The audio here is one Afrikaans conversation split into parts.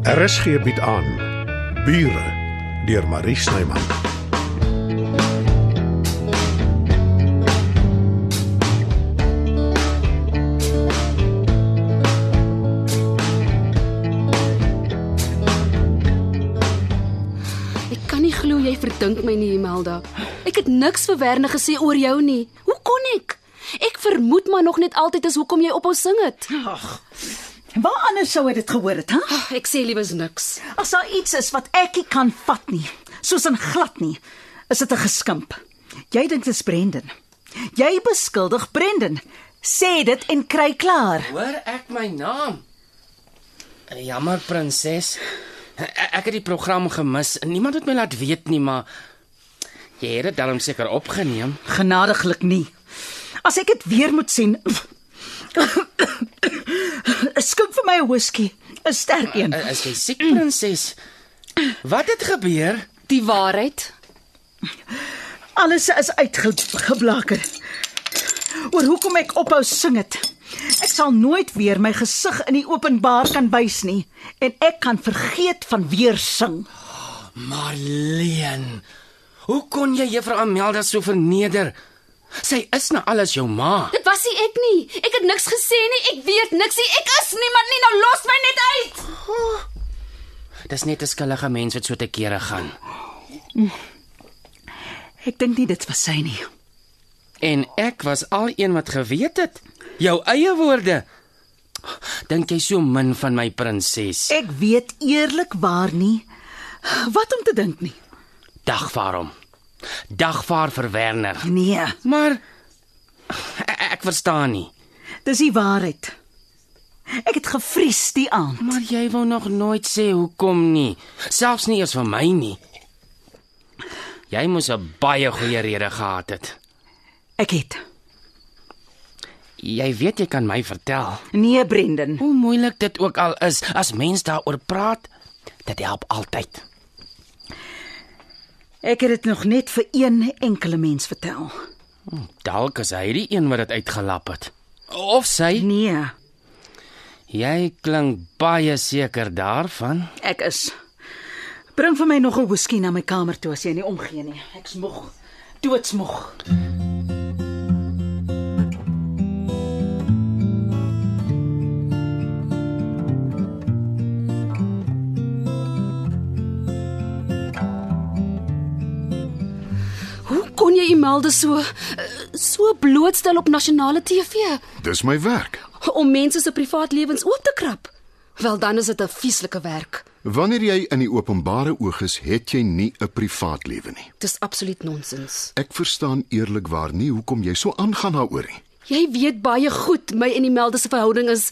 RSG bied aan Bure deur Marie Snyman. Ek kan nie glo jy verdink my nie, Imelda. Ek het niks vir Werner gesê oor jou nie. Hoe kon ek? Ek vermoed maar nog net altyd is hoekom jy ophou sing het. Ag, waar anders sou hy dit gehoor het, hè? Ek sê liewes niks. As daar iets is wat ek nie kan vat nie, soos in glad nie, is dit 'n geskimp. Jy dink dit is Brendan. Jy beskuldig Brendan. Sê dit en kry klaar. Hoor ek my naam? Jammer, prinses. Ek het die program gemis. Niemand het my laat weet nie, maar jy het dit darm seker opgeneem. Genadiglik nie. As ek dit weer moet sien, skink vir my 'n whisky, 'n sterk een. Is jy siek, prinses? Wat het gebeur? Die waarheid. Alles is uitgeblaker. Oor hoekom ek ophou sing het. Ek sal nooit weer my gesig in die openbaar kan wys nie en ek kan vergeet van weer sing. Marleen, hoe kon jy juffrou Amelda so verneder? Sy is na alles jou ma. Dit was nie ek nie. Ek het niks gesê nie. Ek weet niks nie. Ek is niemand nie. Nou los my net uit. Dis net 'n skullige mens wat so te kere gaan. Ek dink nie dit was sy nie. En ek was al een wat geweet het. Jou eie woorde. Dink jy so min van my, prinses? Ek weet eerlikwaar nie wat om te dink nie. Dagvaar hom. Dagvaar vir Werner. Nee, Maar ek verstaan nie. dis die waarheid. Ek het gevries die aand. Maar jy wou nog nooit sê hoekom nie. Selfs nie eers vir my nie. Jy moes 'n baie goeie rede gehad het. Ek het. Jy weet jy kan my vertel. Nee, Brendan. Hoe moeilik dit ook al is, as mens daaroor praat, dit help altyd. Ek het dit nog net vir een enkele mens vertel. Dalk is hy die een wat dit uitgelap het. Of sy. Nee, Jy klink baie seker daarvan. ek is. Bring vir my nog 'n whisky na my kamer toe as jy nie omgee nie. Ek's moeg. Doodsmoeg. Hoe kon jy Imelda so blootstel op nasionale TV? Dis my werk. Om mense se privaat lewens oop te krap? Wel, dan is dit 'n vieslike werk. Wanneer jy in die openbare oog is, het jy nie 'n privaat lewe nie. Dis absoluut nonsens. Ek verstaan eerlikwaar nie hoekom jy so aangaan daaroor nie. Jy weet baie goed my en Imelda se verhouding is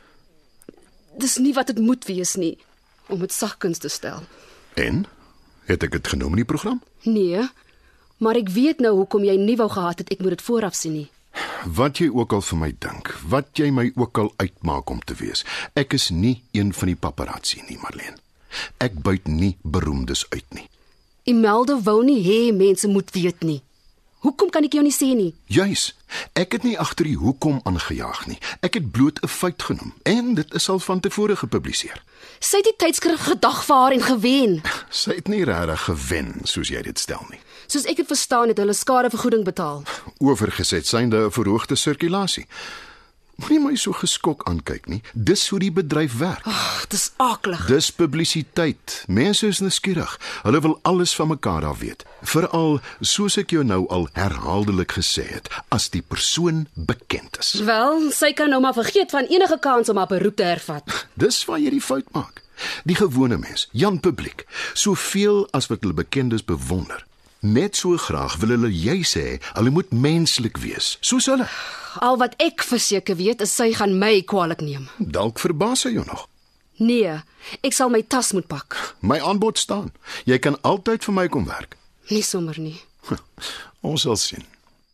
dis nie wat dit moet wees nie, om dit sagkens te stel. En het ek dit genoem in die program? Nee, maar ek weet nou hoekom jy nie wou gehad het ek moet dit vooraf sien nie. Wat jy ook al vir my dink, wat jy my ook al uitmaak om te wees, ek is nie een van die paparazzi nie, Marleen. Ek buit nie beroemdes uit nie. Imelda wou nie hê mense moet weet nie. Hoekom kan ek jou nie sê nie? Juis, ek het nie agter die hoekom aangejaag nie. Ek het bloot 'n feit genoem en dit is al van tevore gepubliseer. Sy het die tydskrif gedagvaar en gewen. Sy het nie regtig gewen soos jy dit stel nie. Soos ek het verstaan het hulle skadevergoeding betaal. Oorgeset synde 'n verhoogde sirkulasie. Moenie my so geskok aankyk nie. Dis hoe die bedryf werk. Ag, dis aklig. Dis publisiteit. Mense is nuuskierig. Hulle wil alles van mekaar af weet. Veral, soos ek jou nou al herhaaldelik gesê het, as die persoon bekend is. Wel, sy kan nou maar vergeet van enige kans om haar beroep te hervat. Dis waar jy die fout maak. Die gewone mens, Jan publiek, soveel as wat hulle bekendes bewonder. Net so graag wil hulle jy sê, hulle moet menslik wees, soos hulle. Al wat ek verseker weet is sy gaan my kwaadlik neem. Dalk verbaas sy jou nog. Nee, ek sal my tas moet pak. My aanbod staan. Jy kan altyd vir my kom werk. Nie sommer nie. Ons sal sien.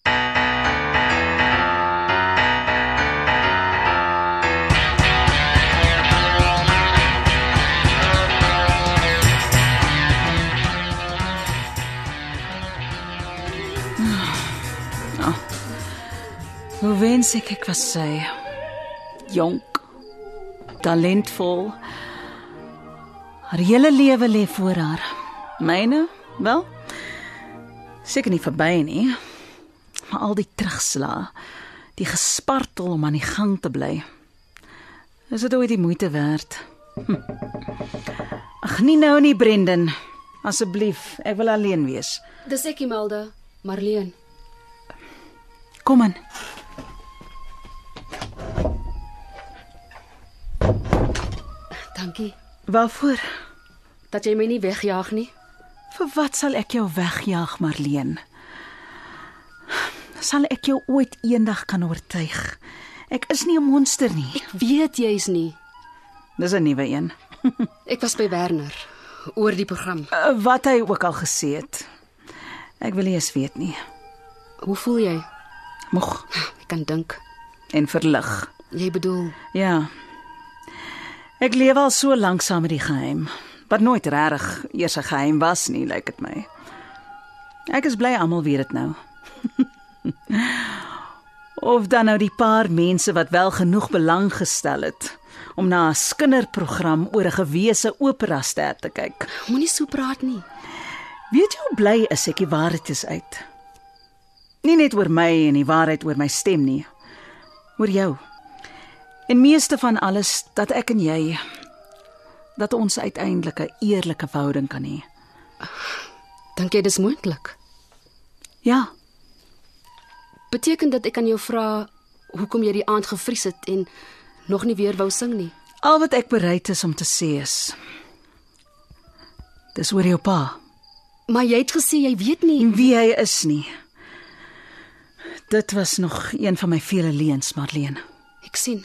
Hoe wens ek was sy. Jonk, talentvol, Haar hele lewe lê voor haar. Myne, wel, seker nie verby nie. Maar al die terugslaa, die gespartel om aan die gang te bly. Is dit ooit die moeite werd? Ag, nie nou nie, Brendan. Asseblief, ek wil alleen wees. Dis ek, Imelda, Marleen. Kom in. Dankie Waarvoor? dat jy my nie wegjaag nie. Vir wat sal ek jou wegjaag, Marleen? Sal ek jou ooit eendag kan oortuig? Ek is nie 'n monster nie. Ek weet jy's nie. Dis 'n nuwe een. Ek was by Werner oor die program. Wat hy ook al gesê het. Ek wil nie eens weet nie. Hoe voel jy? Moeg Ek kan dink. en verlig. Jy bedoel, Ja. Ek leef al so lank saam met die geheim, wat nooit regtig eers 'n geheim was nie, lyk dit my. Ek is bly almal weet dit nou. Of dan nou die paar mense wat wel genoeg belang gestel het om na 'n kinderprogram oor 'n gewese operaster te kyk. moenie so praat nie. Weet jy hoe bly is ek die waarheid is uit? Nie net oor my en die waarheid oor my stem nie, oor jou. En meeste van alles dat ek en jy, dat ons uiteindelik 'n eerlike verhouding kan hê. Dink jy dis moontlik? Ja, Beteken dat ek aan jou vra hoekom jy die aand gevries het en nog nie weer wou sing nie? al wat ek bereid is om te sê is, dis oor jou pa, Maar jy het gesê jy weet nie. en wie hy is nie. Dit was nog een van my vele leuns, Marleen. Ek sien.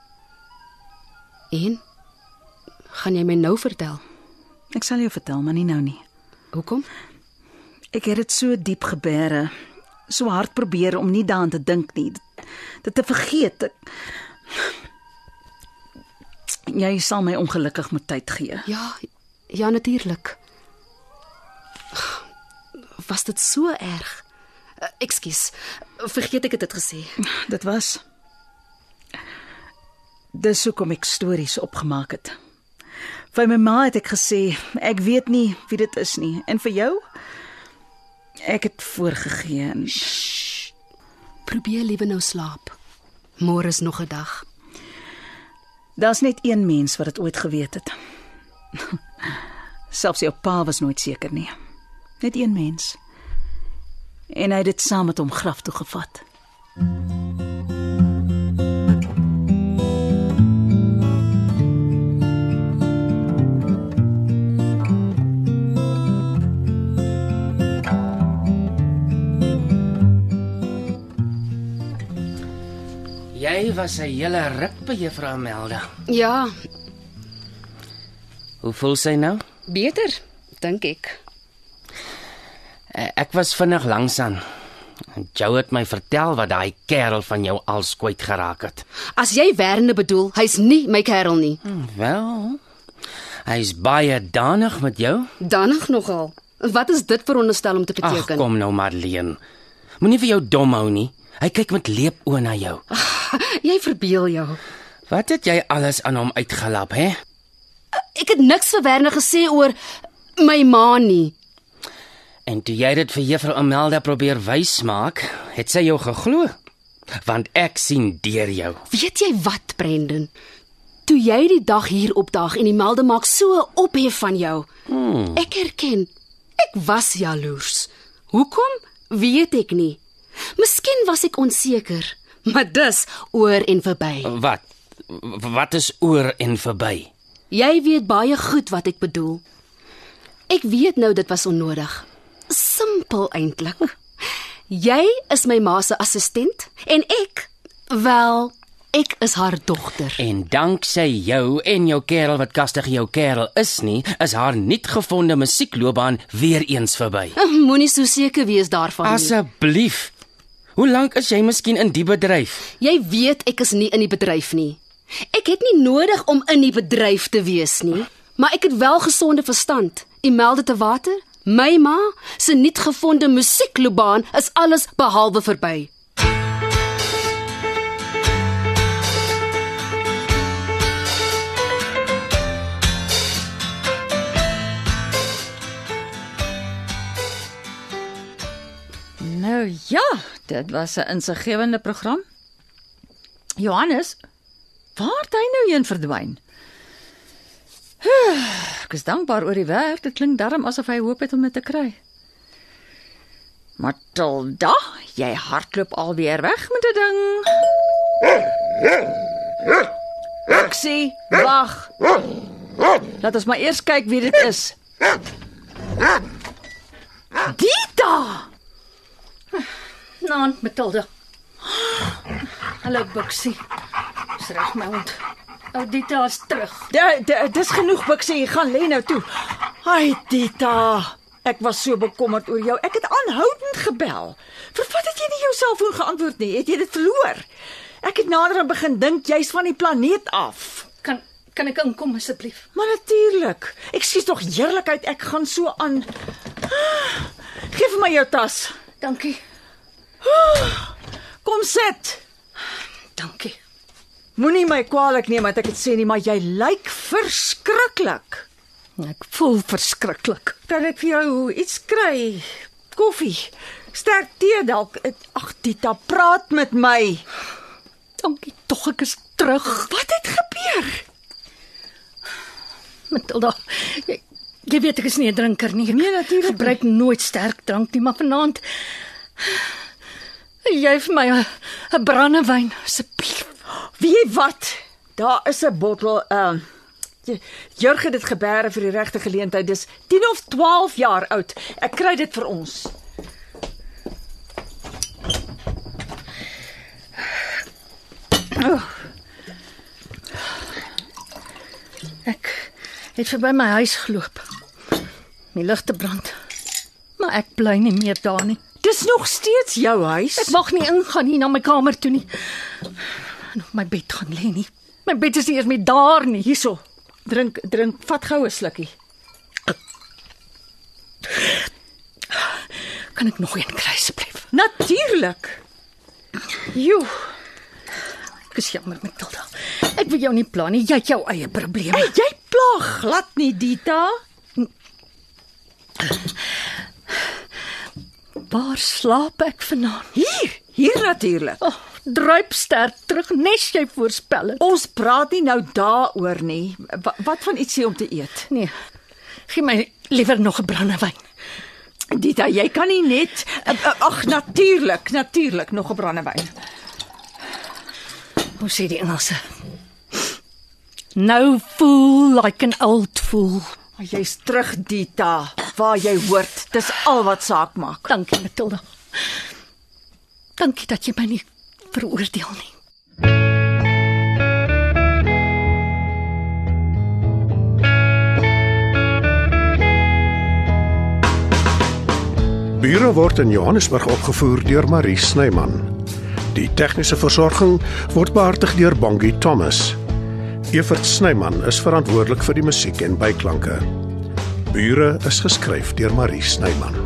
En? Gaan jy my nou vertel? Ek sal jou vertel, maar nie nou nie. Hoekom? Ek het dit so diep gebeere, so hard probeer om nie daaraan te dink nie, dit te vergeet. Jy sal my ongelukkig met tyd gee. Ja, natuurlik. Was dit so erg? Ekskuus. Vergeet ek het dit gesê. Dit was. Dis hoekom ek stories opgemaak het. Vir my ma het ek gesê, ek weet nie wie dit is nie. En vir jou? Ek het voorgegee en Probeer liewe nou slaap. Môre is nog 'n dag. daar's net een mens wat dit ooit geweet het. Selfs jou pa was nooit seker nie. Net een mens. En hy het dit saam met hom graf toe gevat. Jy was 'n hele ruk by Juffrou Imelda. Ja, Hoe voel sy nou? beter, dink ek. Ek was vinnig langs aan. Jou het my vertel wat daai kerel van jou als kwyt geraak het. As jy Werner bedoel, hy's nie my kerel nie. Wel, hy's baie danig met jou. Danig nogal. Wat is dit veronderstel om te Ag, beteken? kom nou Marleen. Moenie vir jou dom hou nie. Hy kyk met leepoë na jou. Jy verbeel jou. Wat het jy alles aan hom uitgelap, hè? Ek het niks vir Werner gesê oor my ma nie. En toe jy dit vir Juffrou Imelda probeer wys maak, het sy jou geglo. Want ek sien deur jou. Weet jy wat, Brendan? Toe jy die dag hier opdaag en die melde maak so ophef van jou. Ek erken, ek was jaloers. Hoekom? Weet ek nie. Miskien was ek onseker, maar dis oor en verby. Wat is oor en verby? Jy weet baie goed wat ek bedoel. Ek weet nou dit was onnodig. Simpel eintlik. Jy is my ma se assistent en ek is haar dogter. En danksy jou en jou kerel wat kastig jou kerel is nie, is haar nuut gevonde musiekloopbaan weer eens verby. Moenie so seker wees daarvan nie. Asseblief. Hoe lank is jy miskien in die bedryf? Jy weet ek is nie in die bedryf nie. Ek het nie nodig om in die bedryf te wees nie, maar ek het wel gesonde verstand. Imelda te water, my ma se nuut gevonde musiekloopbaan is alles behalwe verby. Ja, dit was 'n insiggewende program. Johannes, waar het hy nou heen verdwyn? Ek is dankbaar oor die werk. Dit klink darm asof hy hoop het om dit te kry. Matilda, jy hardloop alweer weg met 'n ding. Roxy, wag. Laat ons maar eers kyk wie dit is. Dita! Nou, Matilda. Hallo, Buxie. Dis reg, my hond. Dita is terug. Dis genoeg, Buxie, gaan lê nou toe. Ai, Dita. Ek was so bekommerd oor jou. Ek het aanhoudend gebel. Vir wat het jy nie jou selfoon geantwoord nie? Het jy dit verloor? Ek het naderhand begin dink jy's van die planeet af. Kan ek inkom asseblief? Maar natuurlik. Ekskuus tog heerlikheid, ek gaan so aan. Geef vir my jou tas. Dankie. Kom sit. Dankie. Moenie my kwaadlik neem wat ek dit sê nie, maar jy lyk verskriklik. Ek voel verskriklik. Kan ek vir jou iets kry? Koffie, sterk tee dalk. Ag Dita, praat met my. Dankie tog, ek is terug. Wat het gebeur? Matilda, jy weet ek is nie 'n drinker nie. Nee, natuurlik. Ek gebruik nooit sterk drank nie, maar vanaand jy vir my 'n brandewyn asseblief. Weet jy wat? Daar is 'n bottel Jurg het dit gebeere vir die regte geleentheid. Dis 10 of 12 jaar oud. Ek kry dit vir ons. Ek het verby my huis geloop. Die ligte brand. Maar ek bly nie meer daar nie. Dis nog steeds jou huis. Ek mag nie ingaan nie na my kamer toe nie. En op my bed gaan lê nie. My bed is nie eers meer daar nie. Hierso. Drink, vat gou 'n slukkie. Kan ek nog een kry asseblief? Natuurlik. Joe. Ek is jammer, Matilda. Ek wil jou nie pla nie. Jy het jou eie probleme. Hey, jy pla glad nie, Dita. Waar slaap ek vanaand? Hier natuurlik. Druip sterk terug, nes jy voorspel het. Ons praat nie nou daaroor nie. Wat van ietsie om te eet? Nee. Gee my liewer nog 'n brandewyn. Dita, jy kan nie net ag natuurlik nog 'n brandewyn. Hoe sê die Engelse? No fool like an old fool. Jy's terug, Dita, waar jy hoort. Dis al wat saak maak. Dankie, Matilda. Dankie dat jy my nie veroordeel nie. Bure word in Johannesburg opgevoer deur Marie Snyman. Die tegniese versorging word behartig deur Bongie Thomas. Evert Snyman is verantwoordelik vir die musiek en byklanke. Bure is geskryf deur Marie Snyman.